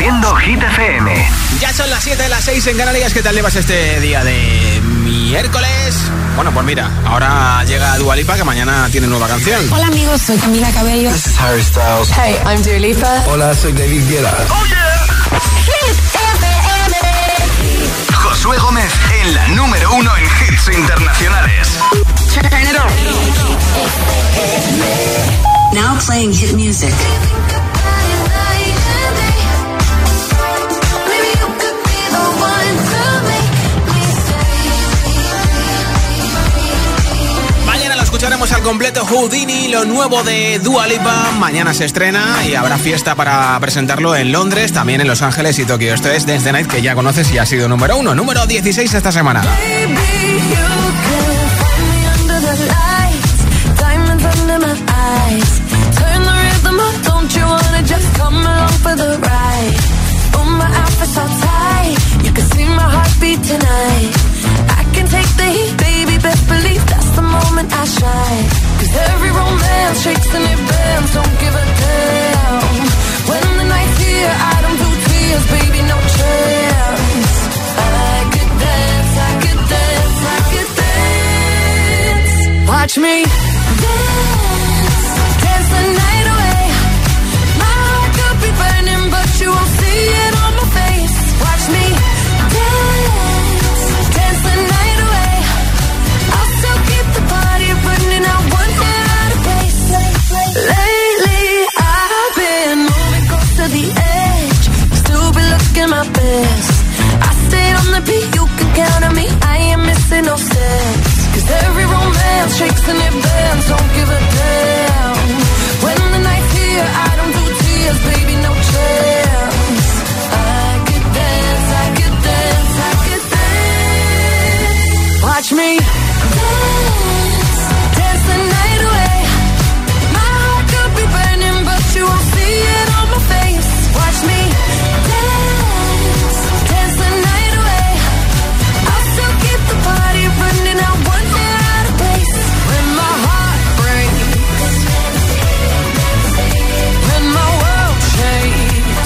Haciendo Hit FM. Ya son las 7 de las 6 en Canarias. ¿Qué tal llevas este día de miércoles? Bueno, pues mira, ahora llega Dua Lipa, que mañana tiene nueva canción. Hola amigos, soy Camila Cabello. This is Harry Styles. Hey, I'm Dua Lipa. Hola, soy David Guetta. ¡Oh, yeah! Hit FM. Josué Gómez en la número 1 en hits internacionales. Turn it on. Now playing hit music. Escucharemos al completo Houdini, lo nuevo de Dua Lipa. Mañana se estrena y habrá fiesta para presentarlo en Londres, también en Los Ángeles y Tokio. Esto es Dance the Night, que ya conoces y ha sido número 1, número 16 esta semana. The moment I shine, 'cause every romance shakes and it bends, don't give a damn. When the night's here, I don't do tears, baby, no chance. I could dance, I could dance, I could dance. Watch me dance, dance the night away. My heart could be burning, but you won't see it on my face. Watch me dance, dance the night away. The party burning out one hand out of place. Lately I've been moving close to the edge, still be looking my best. I stayed on the beat, you can count on me, I ain't missing no steps. 'Cause every romance shakes and it bends, don't give a damn. When the night's here, I don't do tears, baby, no chance. I could dance, I could dance, I could dance. Watch me dance the night away. My heart could be burning, but you won't see it on my face. Watch me dance, dance the night away. I'll still keep the party burning out one hand out of place. When my heart breaks, when my world shakes,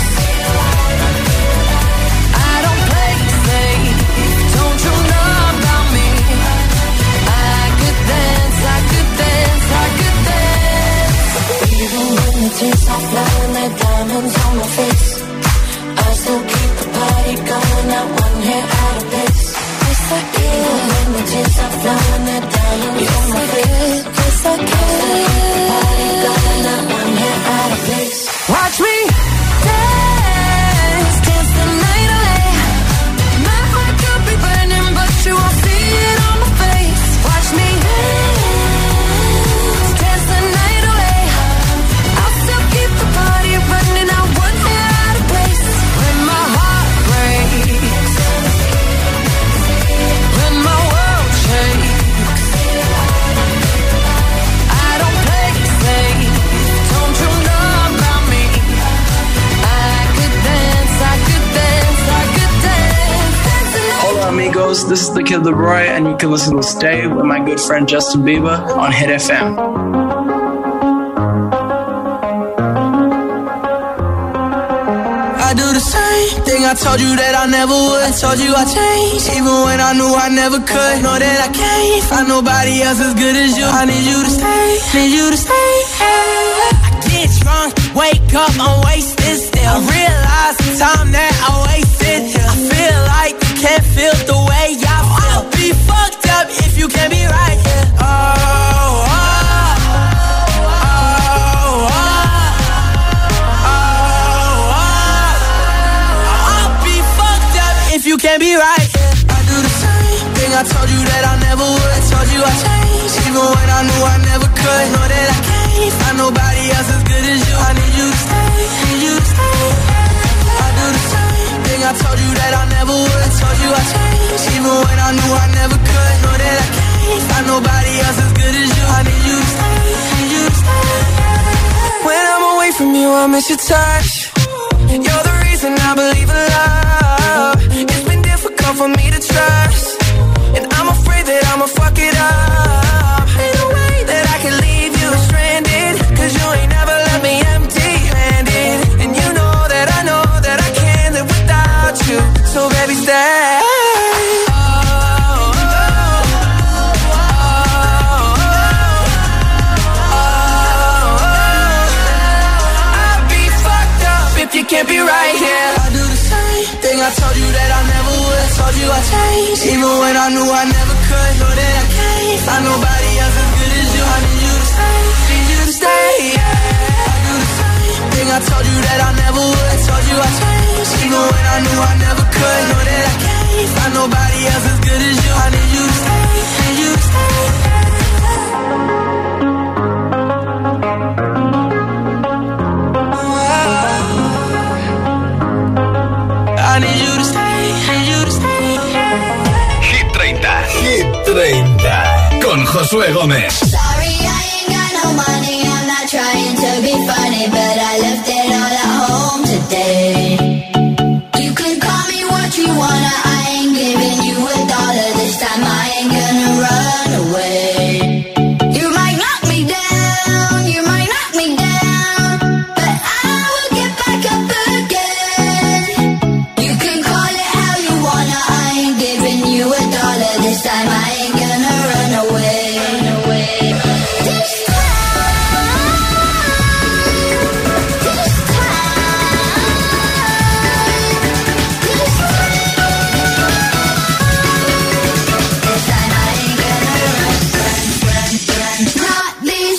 I don't play safe, don't you know about me? I could dance, I could dance, I could dance. Even when the tears are flowing like diamonds on my face, I still keep the party going, not one hair out of place. Yes, I can. Even when the tears are flowing like diamonds on my face, yes, I can. I still keep the party going, not one hair out of place. Watch me dance, dance the night away. My heart could be burning, but you won't see it on my face. Watch me dance, dance the night away. I'll still keep the party running out one hand out of place. When my heart breaks, when my world shakes, I don't play safe, don't you know about me? I could dance, I could dance, I could dance. Hola amigos, this is the Kid Leroy, and you can listen to Stay with my good friend Justin Bieber on Hit FM. I do the same thing I told you that I never would. I told you I changed, even when I knew I never could. Know that I can't find nobody else as good as you. I need you to stay, need you to stay. I get drunk, wake up, I'm wasted still. I realize the time that I wasted here. I feel like you can't feel the way I feel. I'll be fucked up if you can't be right here. Oh, oh, oh, oh, oh, oh. I'll be fucked up if you can't be right here. I do the same thing I told you that I never would. I told you I changed, even when I knew I never could. Know that I can't find nobody else as good as you. I need you to stay, need you to stay. I do the same thing I told you that I never would. I told you I changed, even when I knew I never could. Know that I can't find nobody else as good as you. I need you to stay, need you to stay. When I'm away from you, I miss your touch. You're the reason I believe in love. It's been difficult for me to trust, and I'm afraid that I'ma fuck it up. Ain't no way that I can leave you stranded, 'cause you ain't never left me empty-handed. And you know that I can't be right here. I do the same thing I told you that I never would. Told you I changed, even when I knew I never could. Know that I can't find nobody else as good as you. I need you to stay, need you to stay, yeah. I do the same thing I told you that I never would. Told you I changed, even when I knew I never could. Know that I can't find nobody else as good as you. I need you to stay, need you to stay. I need you to stay, need you to stay. Hit 30. Hit 30. Con Josué Gómez. Sorry, I ain't got no money. I'm not trying to be funny, but I left it all at home today. You can call me what you wanna. I ain't giving you $1 this time. I ain't gonna run away. You might knock me down, you might knock me down, but I will get back up again. You can call it how you wanna. I ain't giving you $1 this time. I ain't gonna run away. This time I ain't gonna run. Not this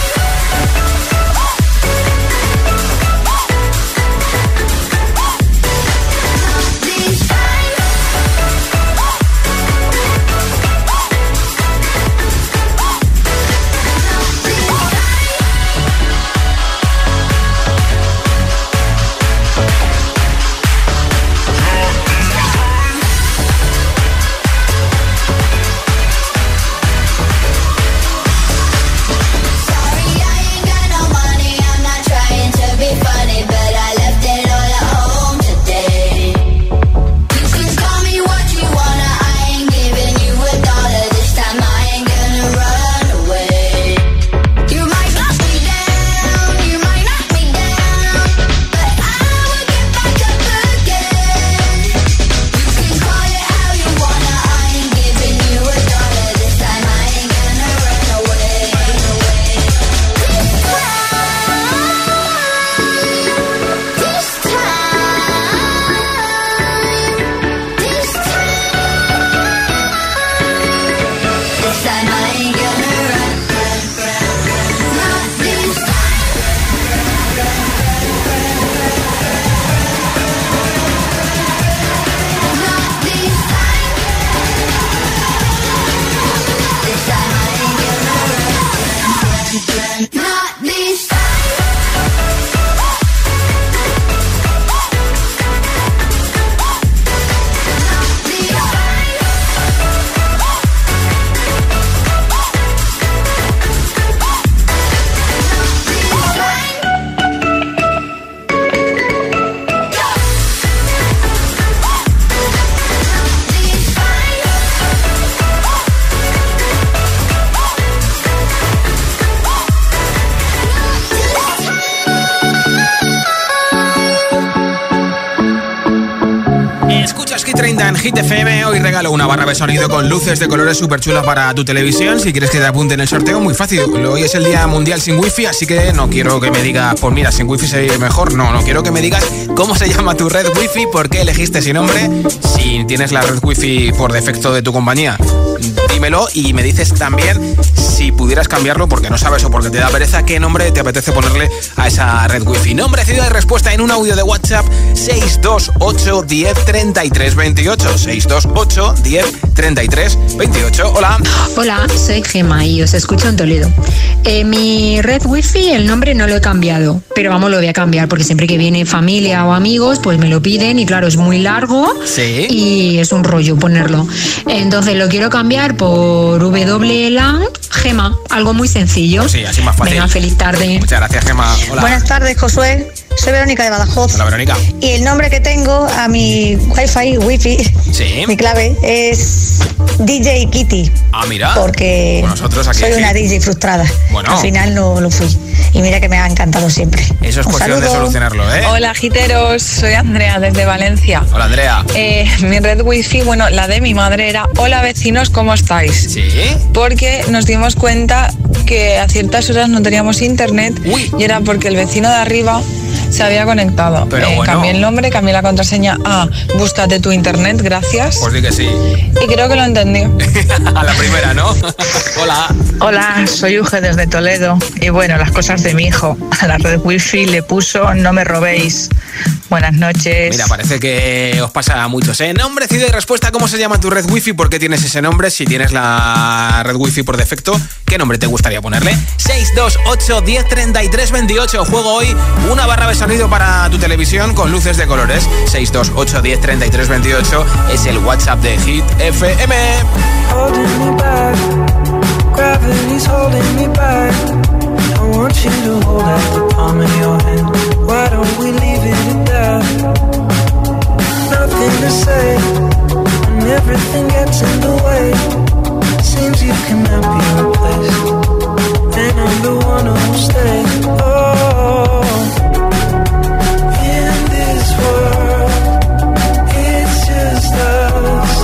En Hit FM hoy regalo una barra de sonido con luces de colores súper chulas para tu televisión. Si quieres que te apunte en el sorteo, muy fácil. Hoy es el día mundial sin wifi, así que no quiero que me digas, pues mira, sin wifi se ve mejor. No quiero que me digas cómo se llama tu red wifi, por qué elegiste ese nombre, si tienes la red wifi por defecto de tu compañía. Dímelo y me dices también si pudieras cambiarlo porque no sabes o porque te da pereza, qué nombre te apetece ponerle a esa red wifi. Nombre, ciudad y respuesta en un audio de WhatsApp 628 10 33 28. 628 10 33 28. Hola. Hola, soy Gema y os escucho en Toledo. Mi red wifi, el nombre no lo he cambiado, pero vamos, lo voy a cambiar porque siempre que viene familia o amigos, pues me lo piden y claro, es muy largo. Sí. Y es un rollo ponerlo. Entonces lo quiero cambiar por WLAN Gema, algo muy sencillo. Sí, así más fácil. Venga, feliz tarde. Muchas gracias, Gema. Hola. Buenas tardes, Josué. Soy Verónica de Badajoz. Hola, Verónica. Y el nombre que tengo a mi wifi, sí, mi clave, es DJ Kitty. Ah, mira. Porque pues nosotros aquí soy sí. una DJ frustrada. Bueno. Al final no lo fui. Y mira que me ha encantado siempre. Eso es cuestión de solucionarlo, ¿eh? Hola, giteros. Soy Andrea desde Valencia. Hola, Andrea. Mi red wifi, bueno, la de mi madre era: hola vecinos, ¿cómo estáis? Sí. Porque nos dimos cuenta que a ciertas horas no teníamos internet. Uy. Y era porque el vecino de arriba se había conectado. Pero bueno. Cambié el nombre, cambié la contraseña a búscate tu internet, gracias. Pues di que sí. Y creo que lo entendió. A la primera, ¿no? Hola. Hola, soy Uge desde Toledo. Y bueno, las cosas de mi hijo. A la red wifi le puso no me robéis. Buenas noches. Mira, parece que os pasa a muchos, ¿eh? Nombre, ciudad y respuesta. ¿Cómo se llama tu red wifi? ¿Por qué tienes ese nombre? Si tienes la red wifi por defecto, ¿qué nombre te gustaría ponerle? 628 10 33 28. Juego hoy una barra de sonido para tu televisión con luces de colores. 628 10 33 28 es el WhatsApp de Hit FM. Holding me back, gravity's holding me back. I want you to hold out the palm of your hand. Why don't we leave it at that? Nothing to say, and everything gets in the way. Seems you cannot be replaced, and I'm the one who will stay. Oh, in this world, it's just us.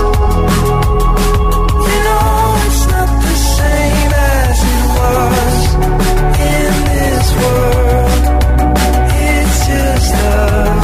You know it's not the same as it was. In this world, it's just us.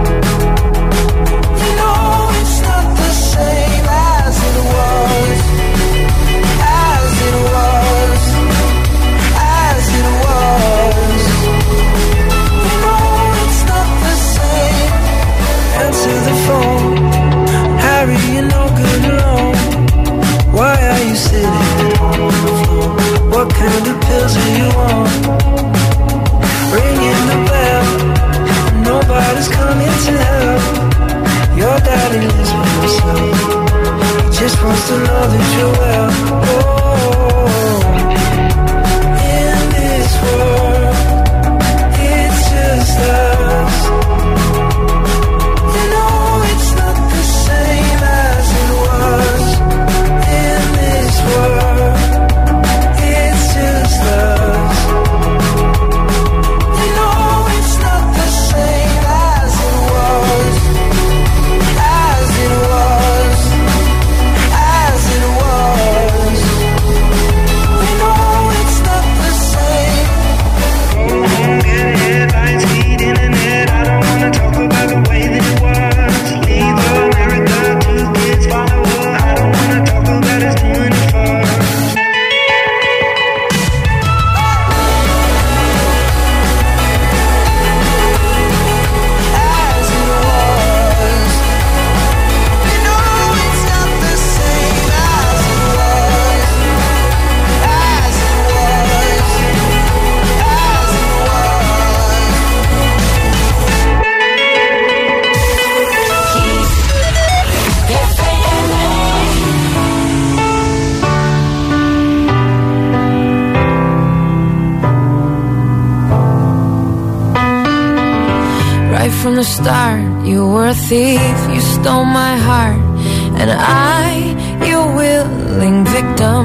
You know it's not the same as it was. As it was. As it was. You know it's not the same. Answer the phone. Harry, you're no good alone. Why are you sitting at home on the floor? What kind of pills are you on? Ringing the bell, nobody's coming to help. Your daddy lives with himself. He just wants to know that you're well. Oh, in this world, it's just us. You know it's not the same as it was. In this world, it's just us. You know it's not the same as it was. As it was. As it was. You know it's not the same. Get headlines, feed internet. I don't wanna talk about the way that it was. Leave America, 2 kids follow her. I don't wanna talk about us doing it first. As it was. You know it's not the same as it was. As it was. As it Right from the start, you were a thief, you stole my heart, and I, your willing victim.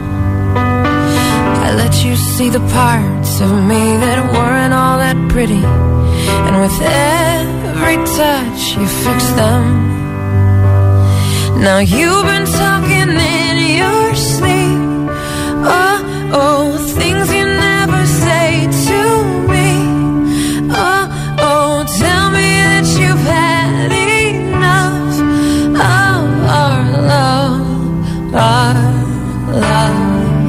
I let you see the parts of me that weren't all that pretty, and with every touch you fixed them. Now you've been talking in your sleep, oh, things you never say to me. Oh, tell me that you've had enough of our love, our love.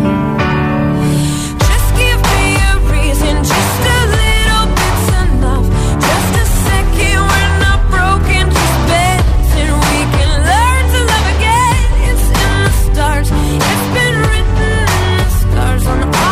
Just give me a reason, just a little bit's enough. Just a second, we're not broken, just bends, and we can learn to love again. It's in the stars, it's been written in the stars on our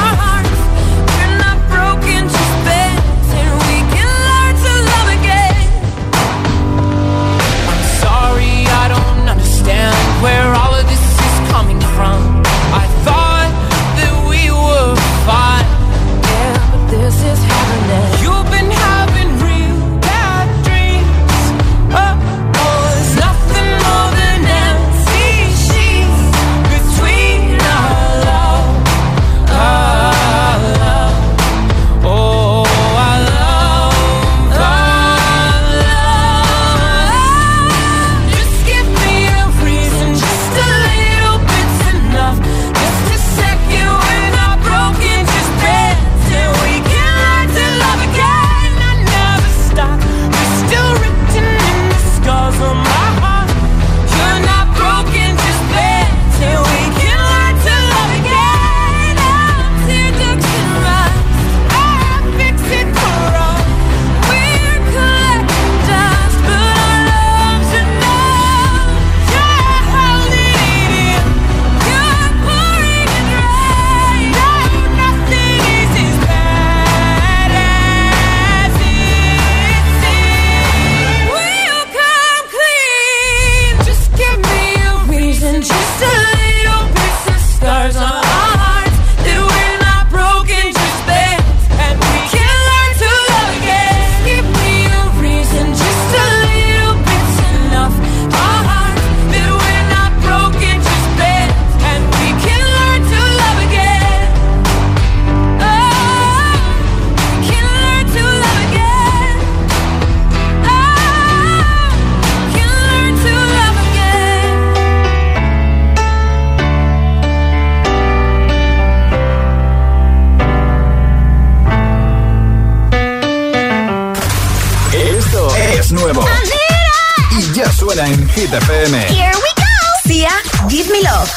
Es nuevo. Y ya suena en Hit FM. Here we go. Sia, Give Me Love.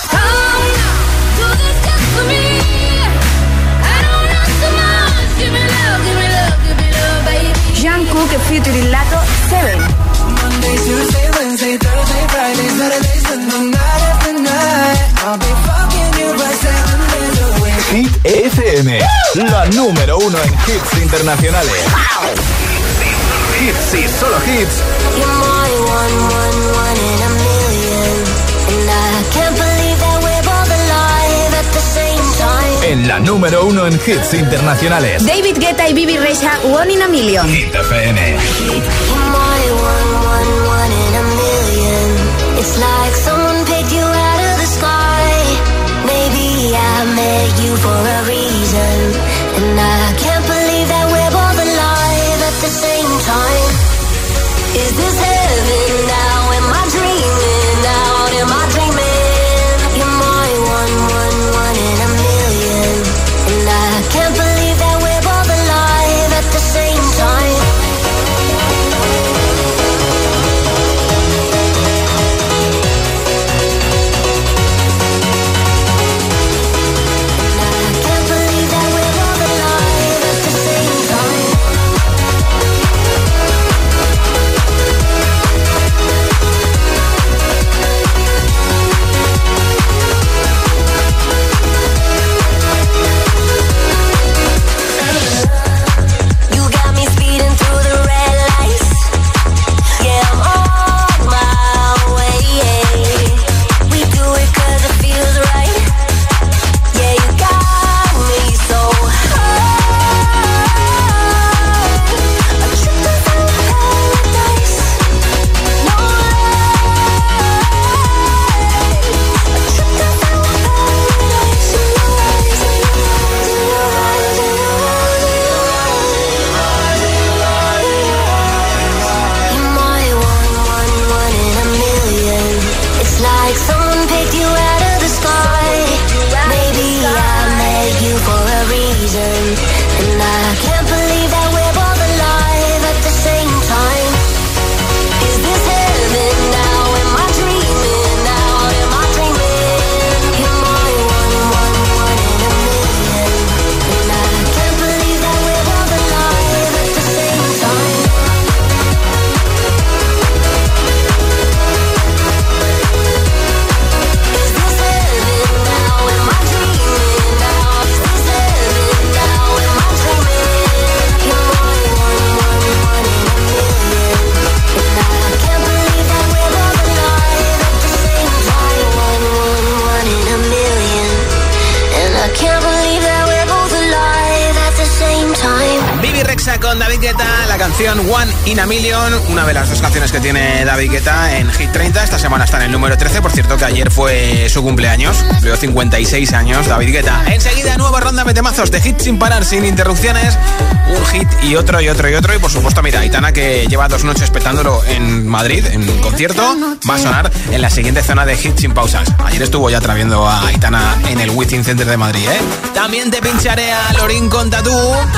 Jungkook featuring Lato, 7. Monday, Tuesday, Wednesday, Thursday, Friday, Saturday, Sunday, night after night. I'll be fucking you by 7 days a week. Hit FM, la número 1 en hits internacionales. Hits y solo hits. You're my one in a million. And I can't believe that we're both alive at the same time. En la número 1 en hits internacionales. David Guetta y Bibi Rexha, One in a Million. Hit FM. You're my one in a million. It's like someone picked you out of the sky. Maybe I met you for a reason. And I can't believe that we're both alive at the same time. Is this heaven now? Am I dreaming out? Am I dreaming? You're my one in a million. And I can't believe that we're both alive at the same time. Con David Guetta, la canción One in a Million, una de las dos canciones que tiene David Guetta en Hit 30. Esta semana está en el número 13, por cierto que ayer fue su cumpleaños, cumplió 56 años David Guetta. Enseguida nueva ronda de temazos de hits sin parar, sin interrupciones, un hit y otro y por supuesto mira, Aitana, que lleva 2 noches petándolo en Madrid, en un concierto, va a sonar en la siguiente zona de hits sin pausas. Ayer estuvo ya traviendo a Aitana en el Within Center de Madrid, ¿eh? También te pincharé a Lorin con Tatú,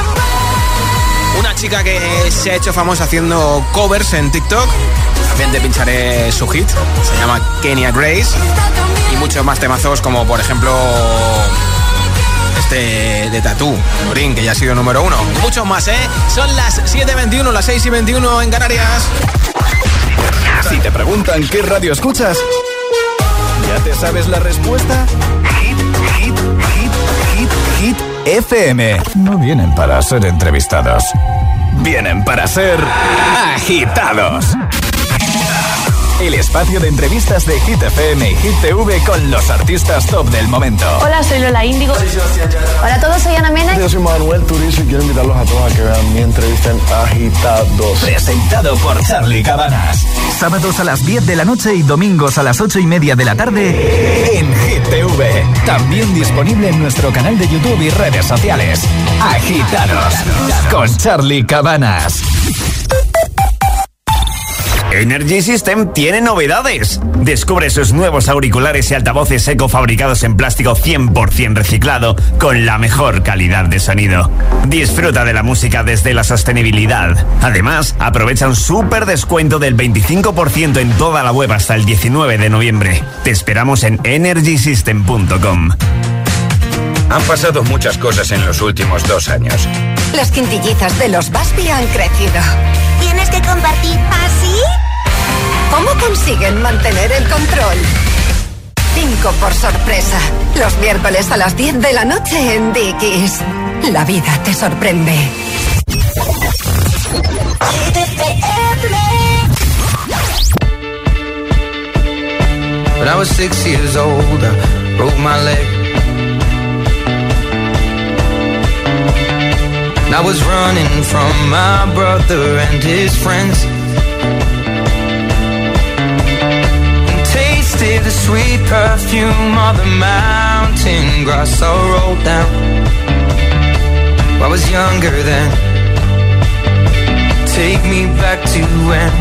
una chica que se ha hecho famosa haciendo covers en TikTok. También te pincharé su hit, se llama Kenya Grace. Y muchos más temazos, como por ejemplo este de Tatú, Lorin, que ya ha sido número 1. Y muchos más, ¿eh? Son las 7:21, las 6:21 en Canarias. Si te preguntan qué radio escuchas, ¿ya te sabes la respuesta? Hit FM. No vienen para ser entrevistados, vienen para ser agitados. El espacio de entrevistas de Hit FM y Hit TV con los artistas top del momento. Hola, soy Lola Índigo. Hola a todos, soy Ana Mena. Yo soy Manuel Turizo y quiero invitarlos a todos a que vean mi entrevista en Agitados. Presentado por Charly Cabanas. Sábados a las 10 de la noche y domingos a las 8:30 de la tarde en Hit TV. También disponible en nuestro canal de YouTube y redes sociales. Agitados con Charly Cabanas. Energy System tiene novedades. Descubre sus nuevos auriculares y altavoces eco fabricados en plástico 100% reciclado con la mejor calidad de sonido. Disfruta de la música desde la sostenibilidad. Además, aprovecha un súper descuento del 25% en toda la web hasta el 19 de noviembre. Te esperamos en energysystem.com. Han pasado muchas cosas en los últimos 2 años. Las quintillizas de los Baspi han crecido. ¿Tienes que compartir así? ¿Cómo consiguen mantener el control? 5 por sorpresa. Los miércoles a las 10 de la noche en Dickies. La vida te sorprende. When I was 6 years old, I broke my leg. I was running from my brother and his friends, and tasted the sweet perfume of the mountain grass I rolled down. I was younger then. Take me back to when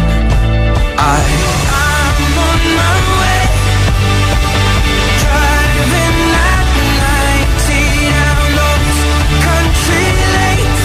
I'm on my way, driving at 90 down those country lanes,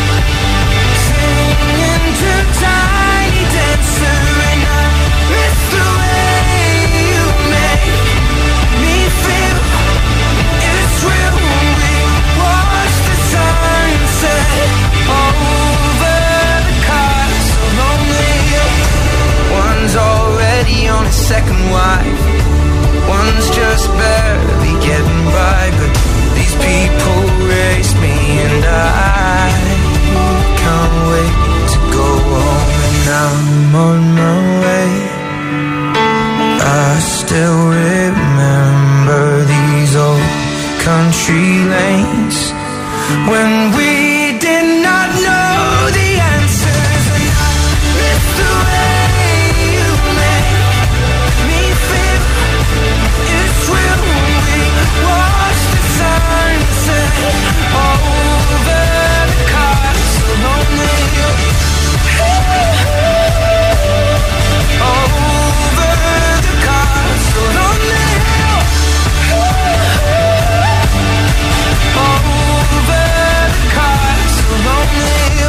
singing to Tiny Dancer, and I miss the way you make me feel. It's real. We watch the sunset over the castle lonely. One's already on his second wife, one's just barely getting by, but these people race me and I can't wait to go home. And I'm on my way. I still remember these old country lanes when we did not know the answers, and I miss the way you make me feel. It's real. We watch the sunset over the castle lonely. Over the castle lonely. Over the castle lonely.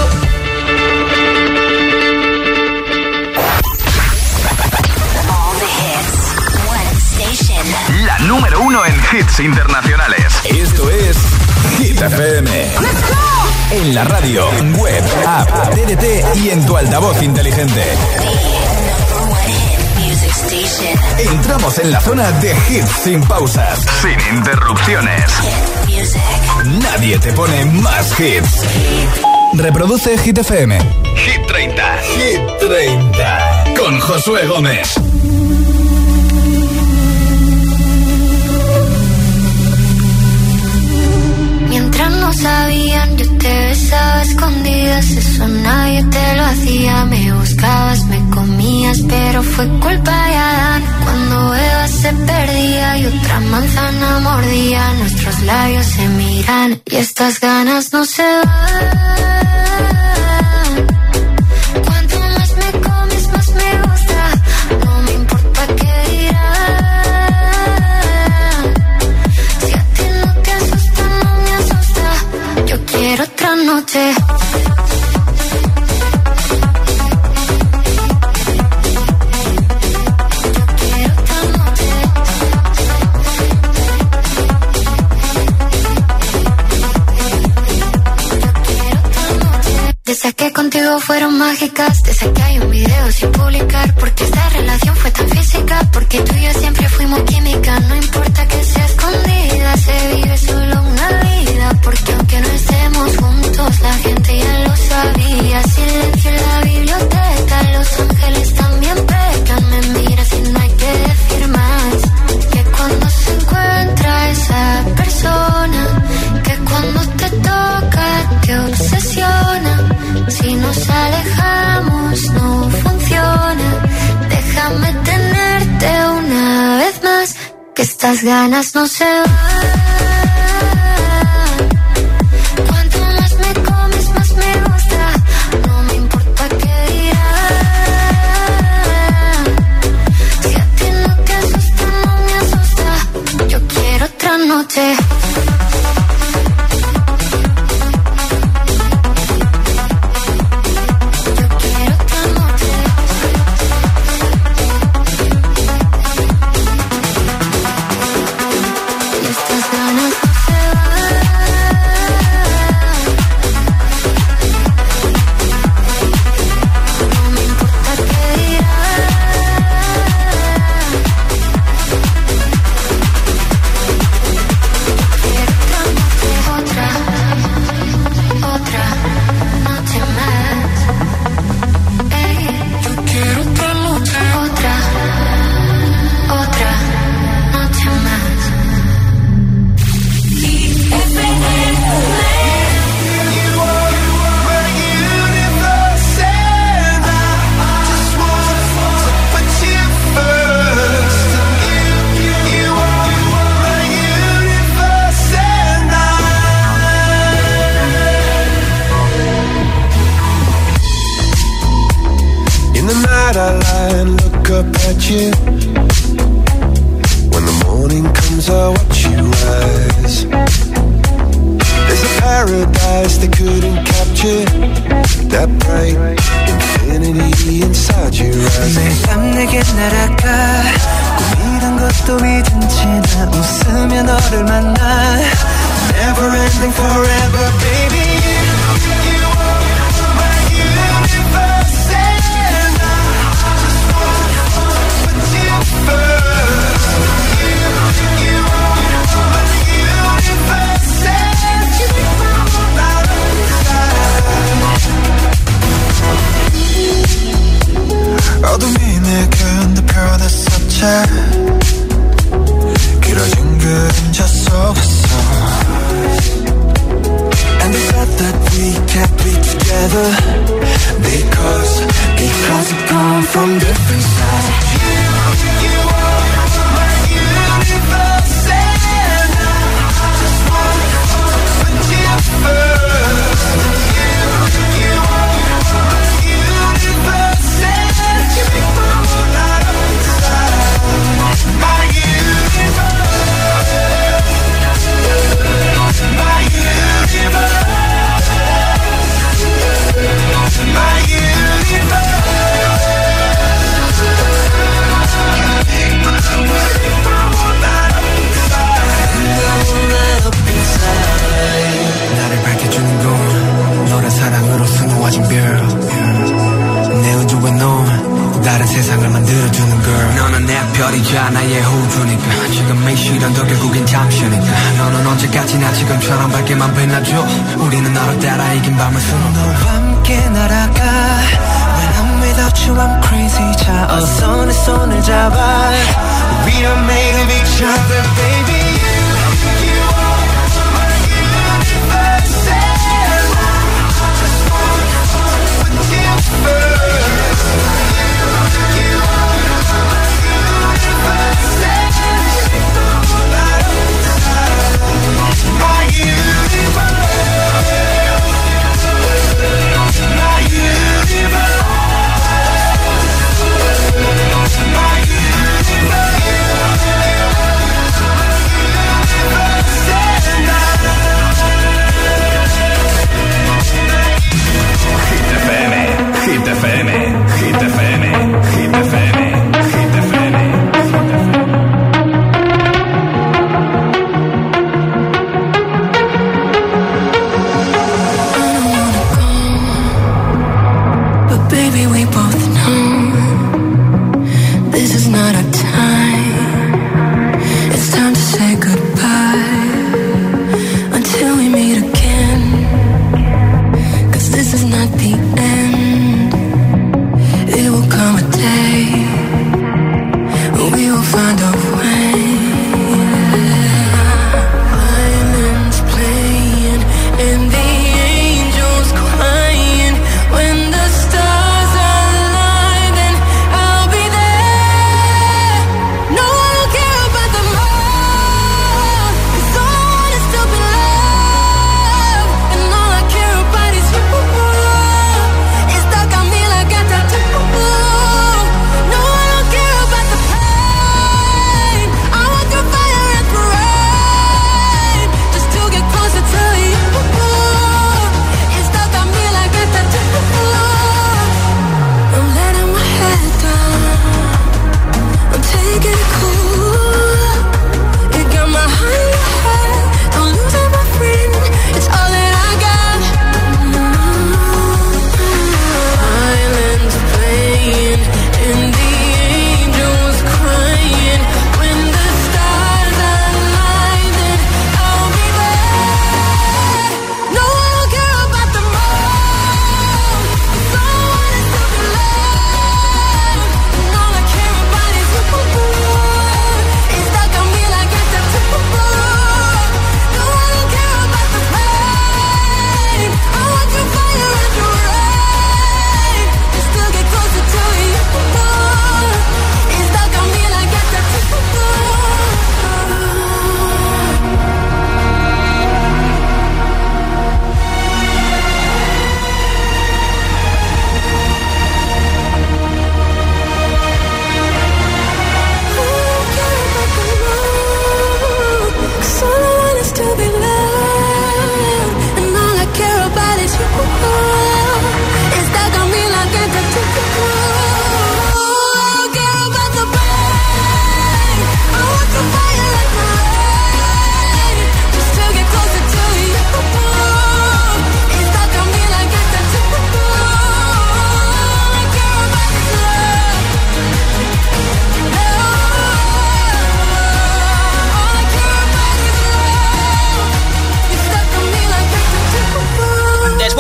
All the hits, one station. La número 1 en hits internacionales. Esto es Hit FM. En la radio, web, app, TDT y en tu altavoz inteligente. Entramos en la zona de hits sin pausas, sin interrupciones. Nadie te pone más hits. Reproduce Hit FM. Hit 30. Hit 30. Con Josué Gómez. Mientras no sabían, yo te besaba a escondidas. Eso nadie te lo hacía. Me buscabas, me comías, pero fue culpa de Adán. Cuando Eva se perdía y otra manzana mordía, nuestros labios se miran y estas ganas no se van. Cuanto más me comes, más me gusta. No me importa qué dirán. Si a ti no te asusta, no me asusta. Yo quiero otra noche. Desde que contigo fueron mágicas, desde que hay un video sin publicar, porque esta relación fue tan física, porque tú y yo siempre fuimos química. No importa que sea escondida, se vive solo una vida, porque aunque no estemos juntos, la gente ya lo sabía. Silencio en la biblioteca, los ángeles también pecan. Me miras y no hay que decir más, que cuando se encuentra esa persona, que cuando te toca te obsesiona. Si nos alejamos no funciona. Déjame tenerte una vez más, que estas ganas no se van. Cuanto más me comes, más me gusta. No me importa qué dirán. noche. You. When the morning comes, I watch you rise. There's a paradise they couldn't capture. That bright infinity inside your eyes. 매일 밤 내게 날아가 꿈이란 것도 잊은 채 나 웃으며 너를 만나. Never ending forever, baby. You are my universe, and I just wanna put you first. You are my universe, and you make my world out of 어둠이 내겐 더 변했었지. 길어진 그림자 속에서 And they said that we can't be together Because we've come from different sides. You are my universe, and I just wanna put you first. You are my universe, and you make my world out of inside. My universe, my universe, my universe. 나를 밝혀주는 건 너란 사랑으로 수놓아진 별. 내 우주에 넌 다른 세상을 만들어주는 girl. 너는 내 별이자 나의 호주니까 지금 이 시련도 결국엔 잠시니까 너는 언제까지나 지금처럼 밝게만 빛나줘. 우리는 너를 따라 이긴 밤을 수놓아 너와 함께 날아가. When I'm without you I'm crazy. 자 어서 내 손을 잡아. We are made of each other, baby. You are my universe, and I just wanna put you first. You are my universe, and you make the world out of inside. My universe, my universe, my universe. Hit FM, Hit FM, Hit FM, Hit FM, Hit FM. But baby, we both know this is not our time. It's time to say goodbye until we meet again. 'Cause this is not the end. It will come a day when we will find a way. Violins playing and the angels crying. When the stars align, then I'll be there.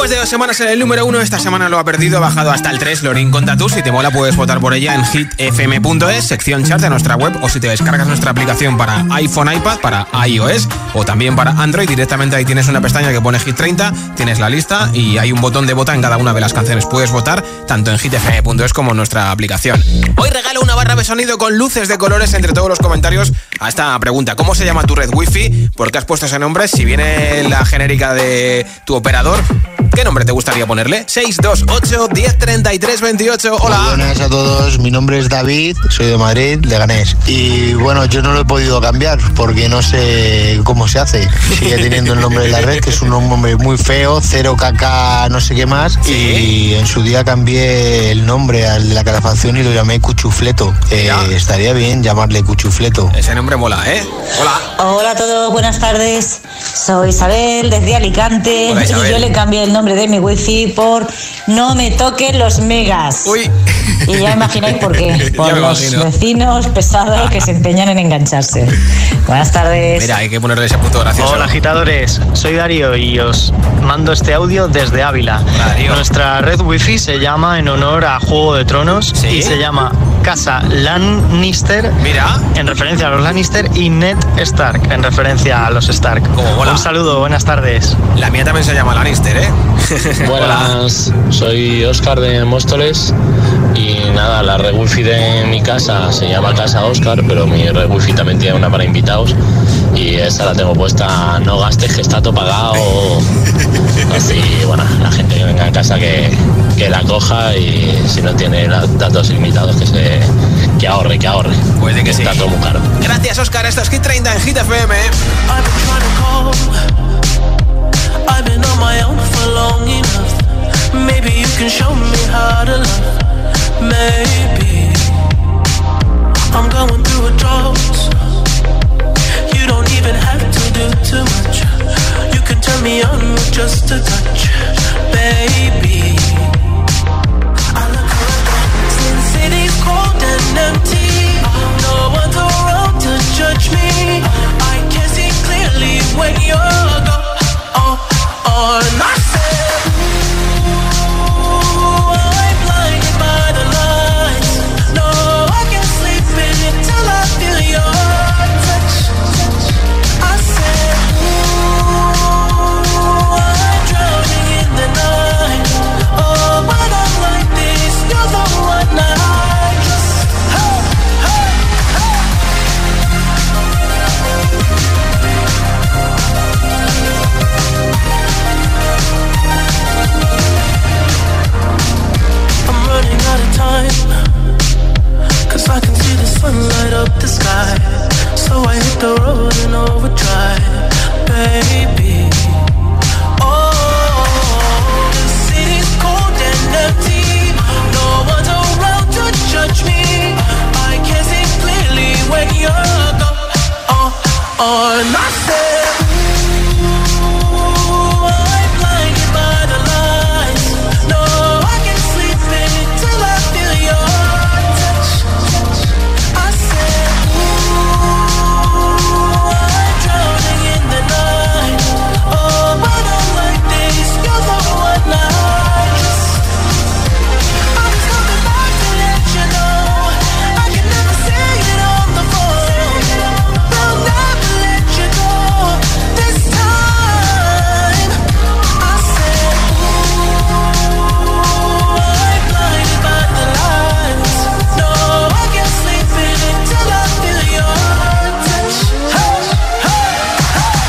Después de 2 semanas en el número 1, esta semana lo ha perdido, ha bajado hasta el 3, Lorin con Tatu. Si te mola puedes votar por ella en hitfm.es, sección chart de nuestra web, o si te descargas nuestra aplicación para iPhone, iPad, para iOS o también para Android, directamente ahí tienes una pestaña que pone Hit 30, tienes la lista y hay un botón de vota en cada una de las canciones. Puedes votar tanto en hitfm.es como en nuestra aplicación. Hoy regalo una barra de sonido con luces de colores entre todos los comentarios a esta pregunta: ¿cómo se llama tu red wifi? ¿Por qué has puesto ese nombre? Si viene la genérica de tu operador, ¿qué nombre te gustaría ponerle? 628 10 33 28. Hola. Muy buenas a todos, mi nombre es David, soy de Madrid, Leganés. Y bueno, yo no lo he podido cambiar porque no sé cómo se hace. Sigue teniendo el nombre de la red, que es un nombre muy feo, 0KK no sé qué más. ¿Sí? Y en su día cambié el nombre al de la calefacción y lo llamé Cuchufleto. Estaría bien llamarle Cuchufleto. Ese nombre mola, ¿eh? Hola. Hola a todos, buenas tardes. Soy Isabel, desde Alicante. Hola, Isabel. Y yo le cambié el nombre de mi wifi por No me toquen los megas. Uy. Y ya imagináis por qué. Por los imagino. Vecinos pesados que se empeñan en engancharse. Buenas tardes. Mira, hay que ponerle ese punto gracioso. Hola agitadores, soy Darío y os mando este audio desde Ávila. Darío. Nuestra red wifi se llama en honor a Juego de Tronos. ¿Sí? Y se llama Casa Lannister. Mira. En referencia a los Lannister, y Ned Stark en referencia a los Stark. Un saludo, buenas tardes. La mía también se llama Lannister, ¿eh? Buenas, soy Óscar de Móstoles y nada, la red wifi de mi casa se llama Casa Óscar, pero mi red wifi también tiene una para invitados y esa la tengo puesta, no gastes que está todo pagado. Así, bueno, la gente que venga a casa que la coja y si no tiene datos ilimitados que ahorre. Puede que sí. Está todo muy caro. Gracias, Óscar. Esto es Hit 30 en Hit FM. I've been on my own for long enough. Maybe you can show me how to love. Maybe I'm going through a drought. You don't even have to do too much. You can turn me on with just a touch, baby. I look around, since city's cold and empty. No one's around to judge me. I can see clearly when you're gone. And I said, ooh, I'm blinded by the lights. No, I can't sleep until I feel your touch. I said, ooh, I'm drowning in the night. Oh, when I'm like this, you're the one I just, hey, hey, hey. Running out of time, 'cause I can see the sun light up the sky. So I hit the road in overdrive, baby. Oh, the city's cold and empty. No one's around to judge me. I can see clearly when you're gone. And I said, ooh, I'm blinded by the lights. No, I can't sleep until I feel your touch. I said, ooh, I'm drowning in the night. Oh, when I'm like this, you're the one I just. I'm just coming back to let you know I can never say it on the phone. They'll never let you go this time. I said, ooh, I'm blinded by the lights. No, I can't sleep until I feel your touch. Hey, hey, hey.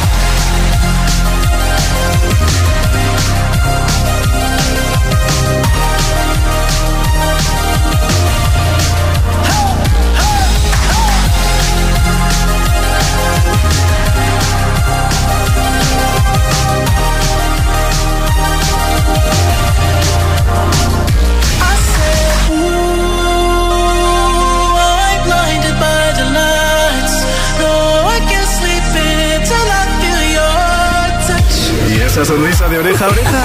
I said, ooh, I'm blinded by the lights. No, I can't sleep until I feel your touch. ¿Y esa sonrisa de oreja a oreja?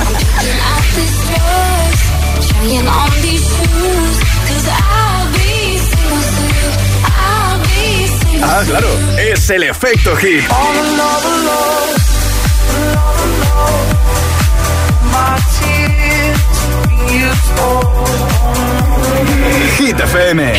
Trying on these shoes, 'cause I'll be single soon. I'll be single. Ah, claro, es el efecto hit. All alone, alone, alone, alone. my tears used all. Hit FM.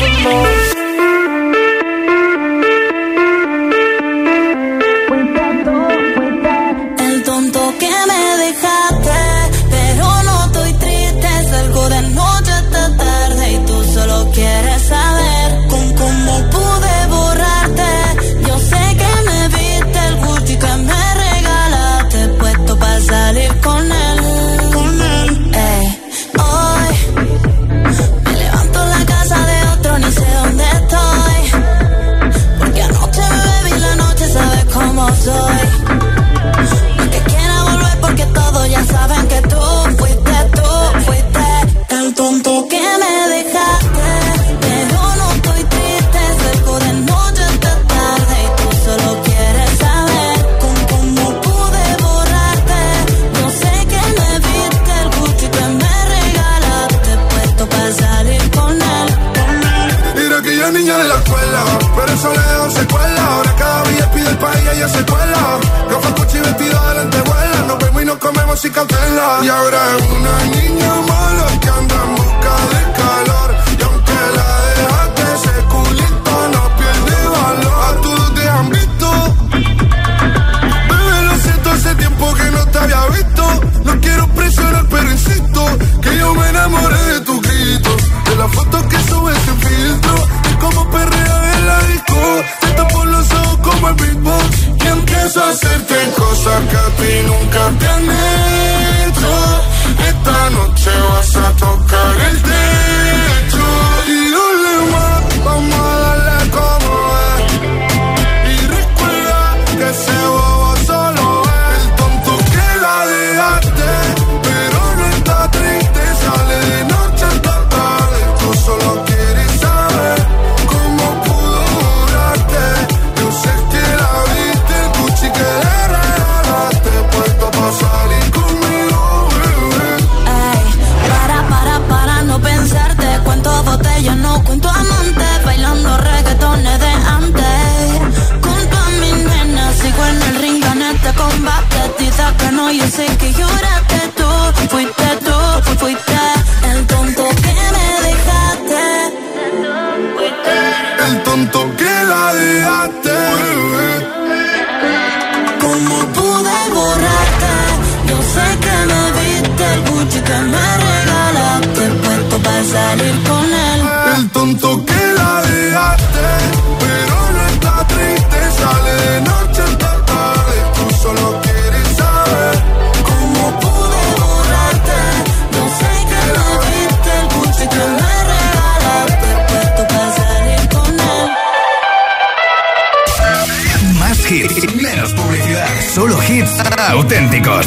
El tonto que me dejaste, pero no estoy triste. Salgo de noche hasta tarde y tú solo quieres saber cómo pude borrarte. Yo sé que me viste el Gucci que me regalaste, puesto para salir con él. Hoy me levanto en la casa de otro, ni sé dónde estoy, porque anoche me bebí la noche, sabes cómo soy. No que quiera volver porque todos ya saben que tú fuiste el tonto que me dejaste, pero no estoy triste. Salgo de noche hasta tarde y tú solo quieres saber cómo pude borrarte. Yo sé que me viste el Gucci que me regalaste, puesto para salir con él. Era aquella niña de la escuela, pero eso le dejó secuela. Ahora cada día pide el país y ella se cuela. Ropa, Gucci, vestido de lentejuela. Nos vemos y nos comemos sin cautela. Y ahora es una niña mala que anda en busca de calor. Y aunque la dejaste, ese culito no pierde valor. A todos te han visto. Bebé, lo siento, hace tiempo que no te había visto. No quiero presionar, pero insisto que yo me enamoré de tu grito, de las fotos que subes sin filtro, y como perrea en la disco. Te tapo los ojos como el beatbox y empiezo a hacerte cosas que a ti nunca te han hecho. Esta noche vas a tocar el techo y dale más, vamos a darle como es. Y recuerda que ese bobo solo es el tonto que la dejaste, pero no está triste. Sale de noche hasta tarde, tú solo quieres saber cómo pudo durarte. Yo sé que la viste, el Gucci que le regalaste, puesto pa' salir conmigo, bebé. Para no pensarte. Cuento botellas, no cuento amantes. Bailando reggaetones de antes. Junto a mi nena, sigo en el ring en este combate. Dice que no, yo sé que lloraste tú. Fuiste el tonto que me dejaste. El tonto que la dejaste, bebé. ¿Cómo pude borrarte? Yo sé que me viste el Gucci que me regalaste, puesto para salir con él. El tonto que la dejaste, pero no está triste. Sale de noche hasta tarde, tú solo quieres saber cómo pude borrarte. Yo sé que me viste el Gucci que me regalaste, puesto para salir con él. Más hits, menos publicidad. Solo hits auténticos.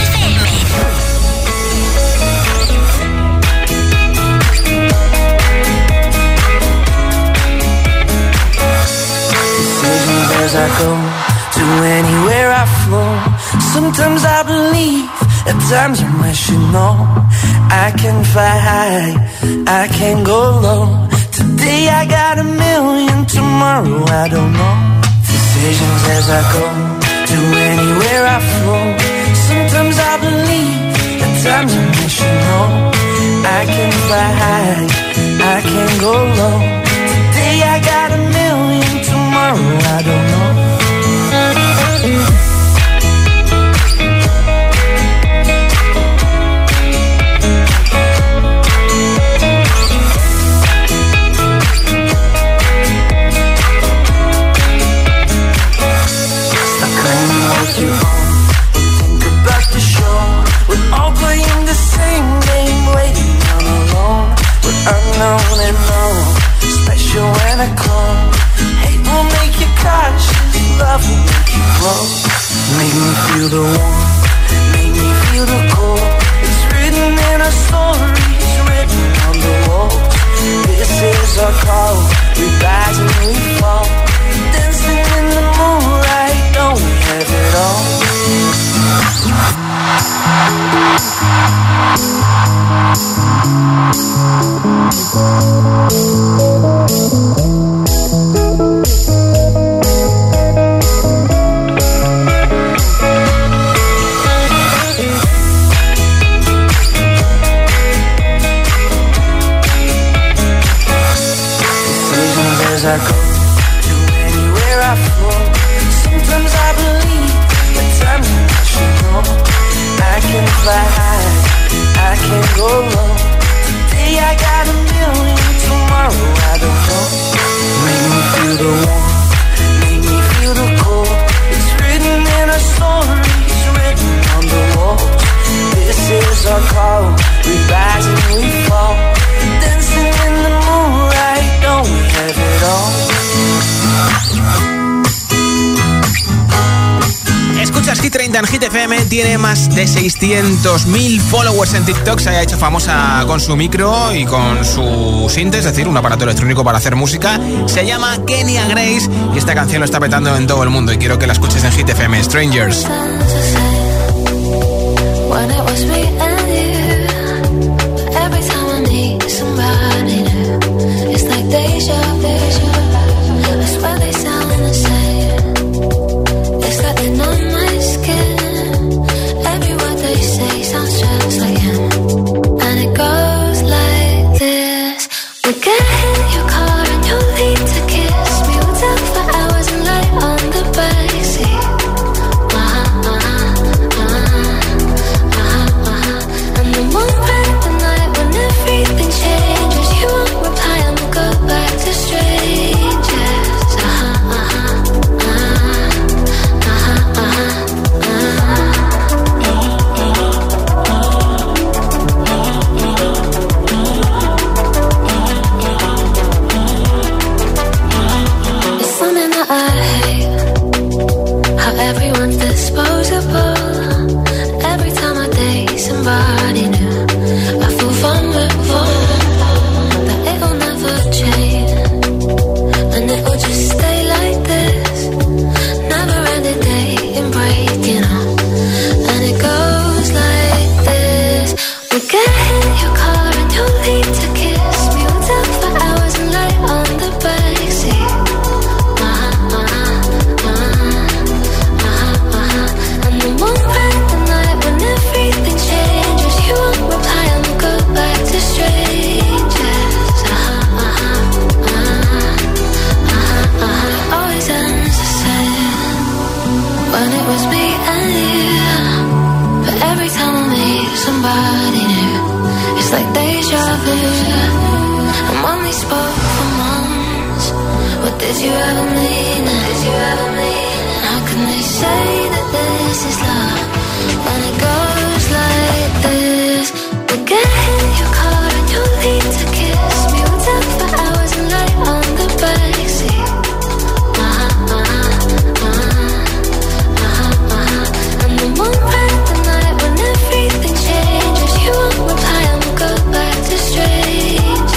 As I go to anywhere I flow, sometimes I believe, at times I wish you know. I can fly high, I can go low. Today I got a million, tomorrow I don't know. Decisions as I go to anywhere I flow. Sometimes I believe, at times I wish you know. I can fly high, I can go low. Today I got a million, tomorrow I don't know. Unknown and known, special when I come. Hate will make you cautious, love will make you grow. Make me feel the warmth, make me feel the cold. It's written in our stories, written on the walls. This is our call, we rise and we fall. Dancing in the moonlight, don't we have it all? I go to anywhere I flow. Sometimes I believe, at times I should know. I can fly high, I can go low. Today I got a million, tomorrow I don't know. Make me feel the warmth, make me feel the cold. It's written in our stories, written on the walls. This is our call, we rise and we fall. Dancing in the moonlight, don't we have it all? Escuchas Hit 30 en Hit FM, tiene más de 600.000 followers en TikTok, se ha hecho famosa con su micro y con su synth, es decir, un aparato electrónico para hacer música. Se llama Kenya Grace y esta canción lo está petando en todo el mundo y quiero que la escuches en Hit FM, Strangers. When it was me and you, every time I need somebody new, it's like deja vu. I swear they sound the same. It's like they know my skin. Every word they say sounds just like him. And it goes like this. We get in your car and you leave to kiss me. We'll talk for hours and lie on the backseat. Everyone's disposable. Every time I date somebody new, I feel vulnerable. But it'll never change, and it will just stay like this. Never end a day in breaking up. And it goes like this. We'll get in your car and you'll leave to kiss me. We'll talk for hours and lie on the backseat. Somebody new, it's like deja vu. And when we spoke for months, what did you ever mean? Did you ever mean? How can they say that this is love when it goes like this? We'll get in your car and you'll leave to kiss me. We'll talk for hours and lie on the backseat. And the one right the night when everything changes, you won't reply and we'll go back to strangers.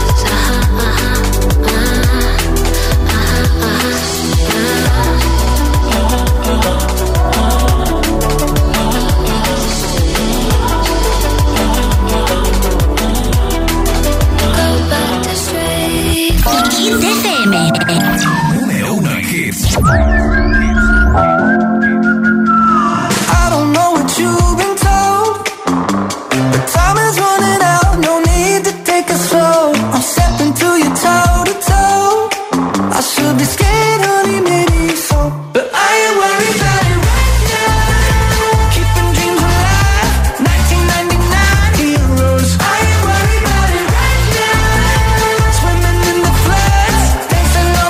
Go back to strangers. Hit FM. Número 1 en hits. I don't know what you've been told, but time is running out, no need to take it slow. I'm stepping to you toe to toe. I should be scared, honey, maybe so, but I ain't worried about it right now. Keeping dreams alive, 1999 heroes. I ain't worried about it right now. Swimming in the floods, dancing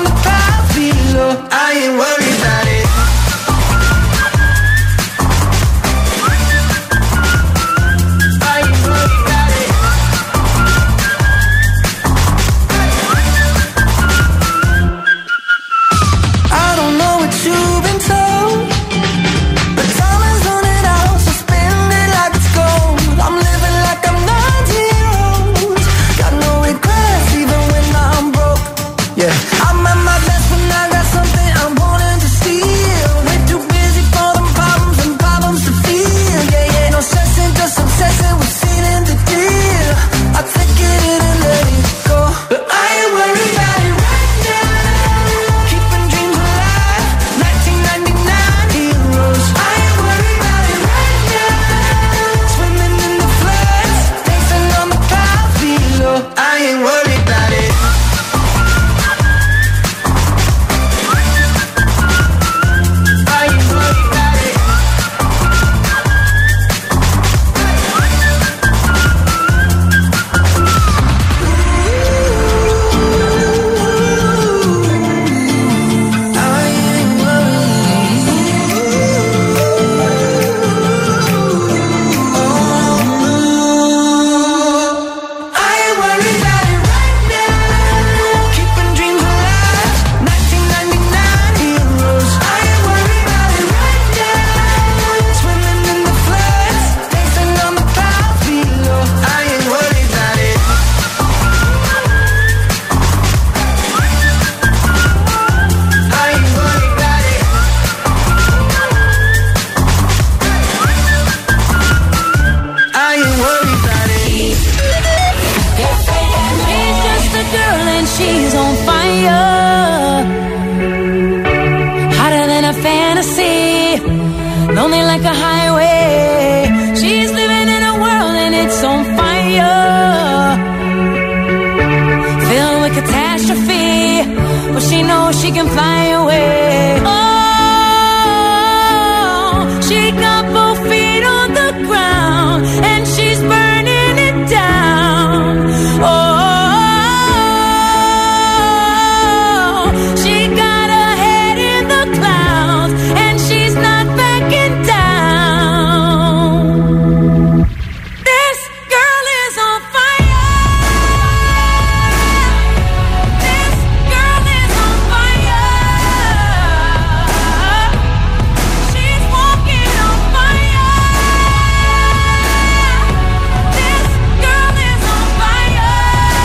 she's on fire. Hotter than a fantasy, lonely like a highway. She's living in a world and it's on fire. Filled with catastrophe, but she knows she can fly away. Oh, she got both feet on the ground and she's burning it down. Oh, she got her head in the clouds and she's not backing down. This girl is on fire. This girl is on fire. She's walking on fire. This girl is on fire.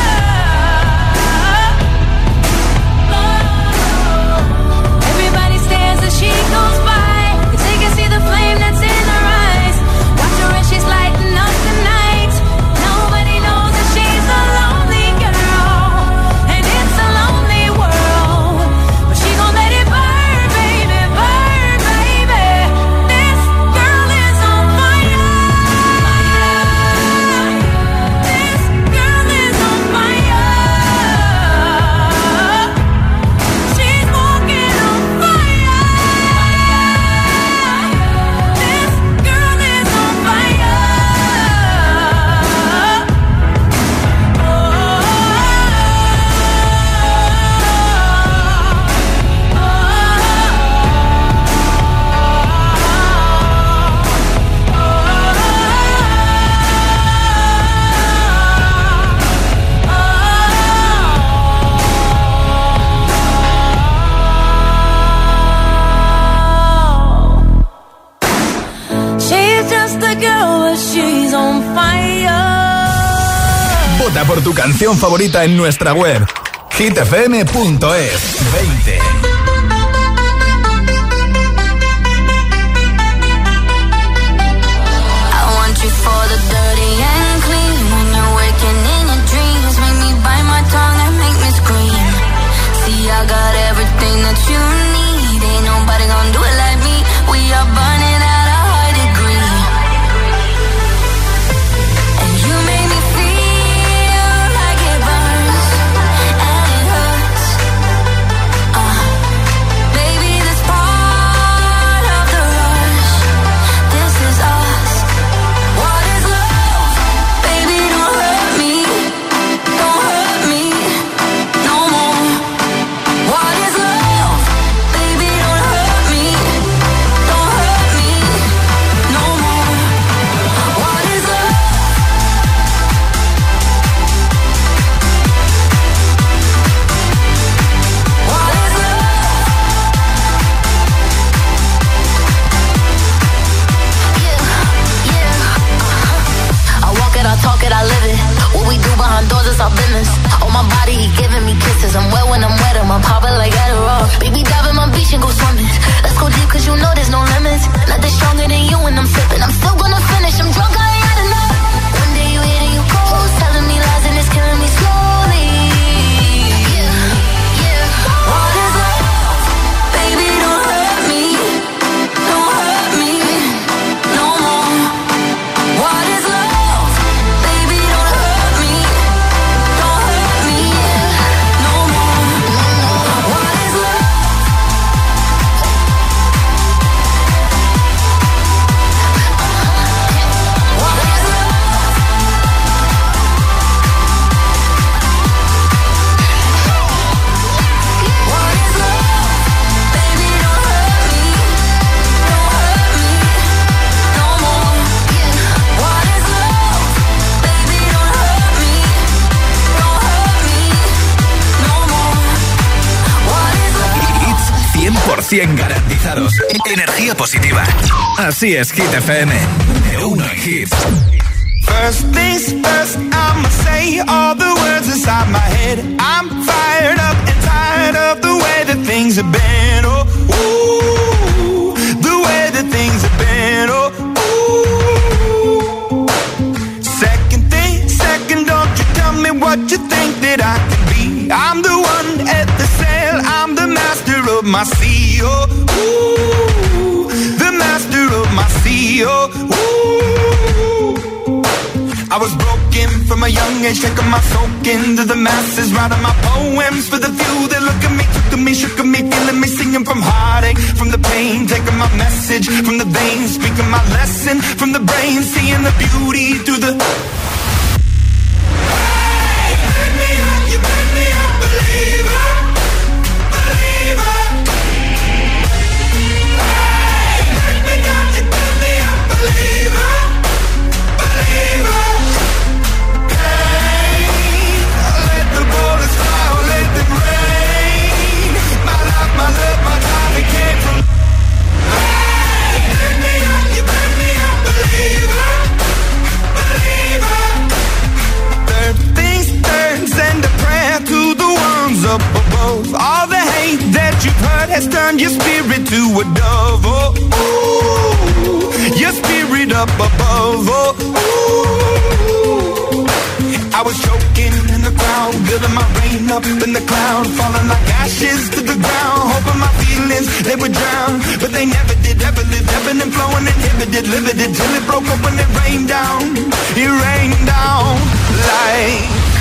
Everybody stares as she goes by, 'cause they can see the flame that's in her eyes. Watch her as she's lighting up the night. Nobody knows that she's a lonely girl, and it's a lonely world. But she gon' let it burn, baby, burn, baby. This girl is on fire. This girl is on fire. She's walking on fire. This girl is on fire. She's just a girl, but she's on fire. Vota por tu canción favorita en nuestra web hitfm.es 20. I want you for the dirty and clean. When you're waking in your dreams, make me bite my tongue and make me scream. See, I got everything that you need. Ain't nobody gonna do it like me. We are burning at a high degree. And you make me feel like it burns and it hurts. Baby, this part of the rush. This is us. What is love? Baby, don't hurt me. Don't hurt me no more. What is love? Baby, don't hurt me. Don't hurt me no more. What is love? What is love? I walk it, I talk it, I live it. What we do behind doors is our business. On my body, he giving me kisses. I'm wet when I'm wet, I'm popping like Adderall. Baby, dive in my beach and go swimming. Let's go deep, 'cause you know there's no limits. Nothing stronger than you when I'm sipping. I'm still gonna finish, I'm drunk, I ain't had enough. One day you hit and you cold, telling me lies and it's killing me slowly. What is love? Baby, don't hurt me. Don't hurt me no more. What is love? Baby, don't hurt me. Don't hurt me no more. What is love? What is love? What is love? Baby, don't hurt me. Don't hurt me no more. What is love? Baby, don't hurt me. Don't hurt me no more. What is love? Hits 100% garantizados. Energía positiva. Así es, Hit FM. Número 1 en hits. First things first, I'ma say all the words inside my head. I'm fired up and tired of the way that things have been. Oh, ooh, the way that things have been. Oh, ooh. Second thing, second, don't you tell me what you think that I can be. I'm the my CEO. Ooh, the master of my CEO. Ooh, I was broken from a young age, taking my soak into the masses, writing my poems for the few that look at me, took to me, shook at me, feeling me, singing from heartache, from the pain, taking my message from the veins, speaking my lesson from the brain, seeing the beauty through the. Hey, turn me up, you burn me up, believer, believer. Hey, turn me up, you burn me up, believer, believer. My love, my time, it came from. Hey, turn me up, you burn me up, believer, believer. Third things turns and a prayer to the ones up above. All the hate that you've heard has turned your spirit to a dove. Oh, ooh, your spirit up above. Oh, ooh. I was choking in the crowd, building my rain up in the cloud, falling like ashes to the ground, hoping my feelings, they would drown, but they never did, ever lived, ebbing and flowing, inhibited, limited, till it broke up when it rained down like.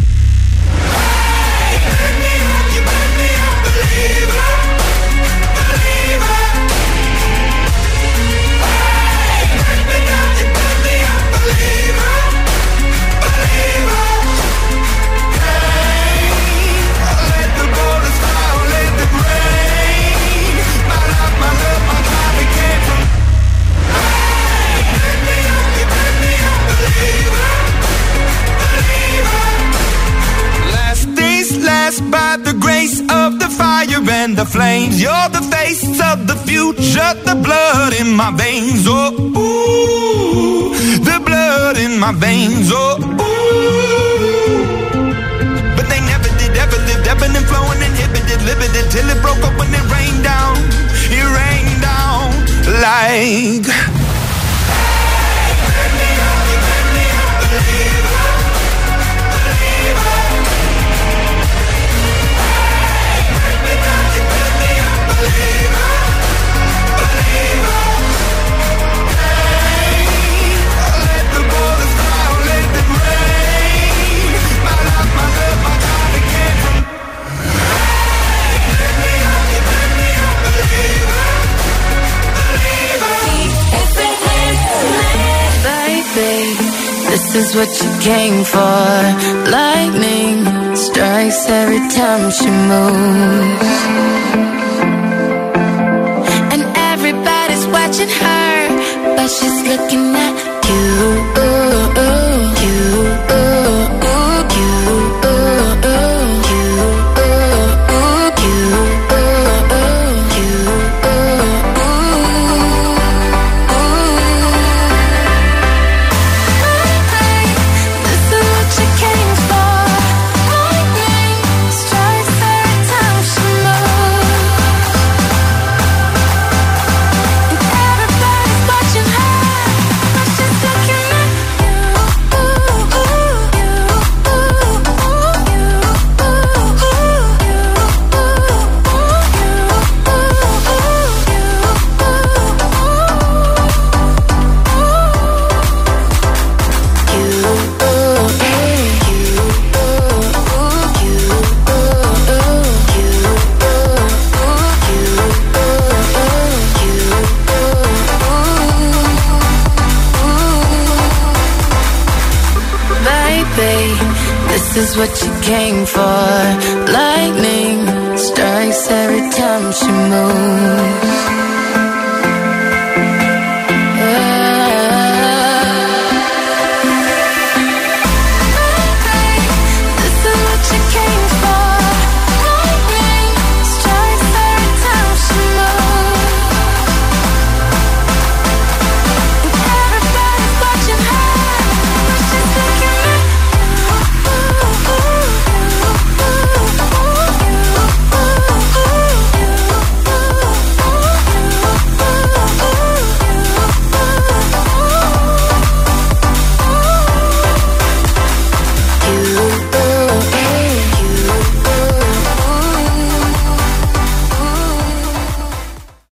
Hey, turn me up, you burn me up, believer, believer. Hey, turn me up, you burn me up, believer, believer. By the grace of the fire and the flames, you're the face of the future, the blood in my veins. Oh, ooh, the blood in my veins. Oh, ooh. But they never did, ever lived, ebbing and flowing, inhibited, limited, till it broke up when it rained down like. Hey, turn me up, you burn me up, believer, believer. This is what you came for. Lightning strikes every time she moves, and everybody's watching her, but she's looking at you. This is what you came for. Lightning strikes every time she moves.